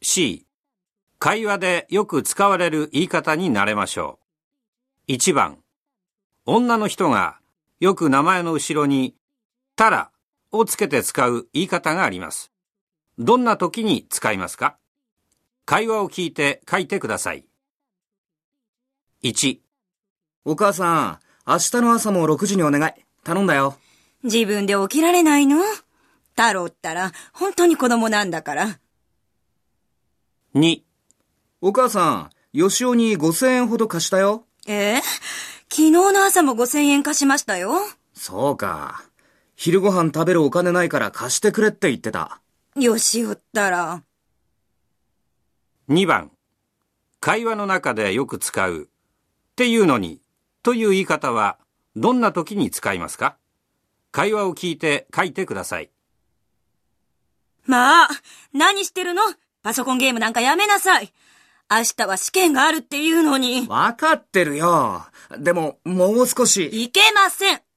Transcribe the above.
C、会話でよく使われる言い方に慣れましょう。1番、女の人がよく名前の後ろにたらをつけて使う言い方があります。どんな時に使いますか？会話を聞いて書いてください。1、 お母さん、明日の朝も6時にお願い。頼んだよ。 自分で起きられないの？太郎ったら本当に子供なんだから。 2、 お母さん、よしおに5000円ほど貸したよ。 昨日の朝も5000円貸しましたよ。 そうか。昼ご飯食べるお金ないから貸してくれって言ってた。 よしおったら。 2番、会話の中でよく使うっていうのにという言い方はどんな時に使いますか？会話を聞いて書いてください。 まあ、何してるの？パソコンゲームなんかやめなさい。明日は試験があるっていうのに。 わかってるよ。でも、もう少し。 いけません。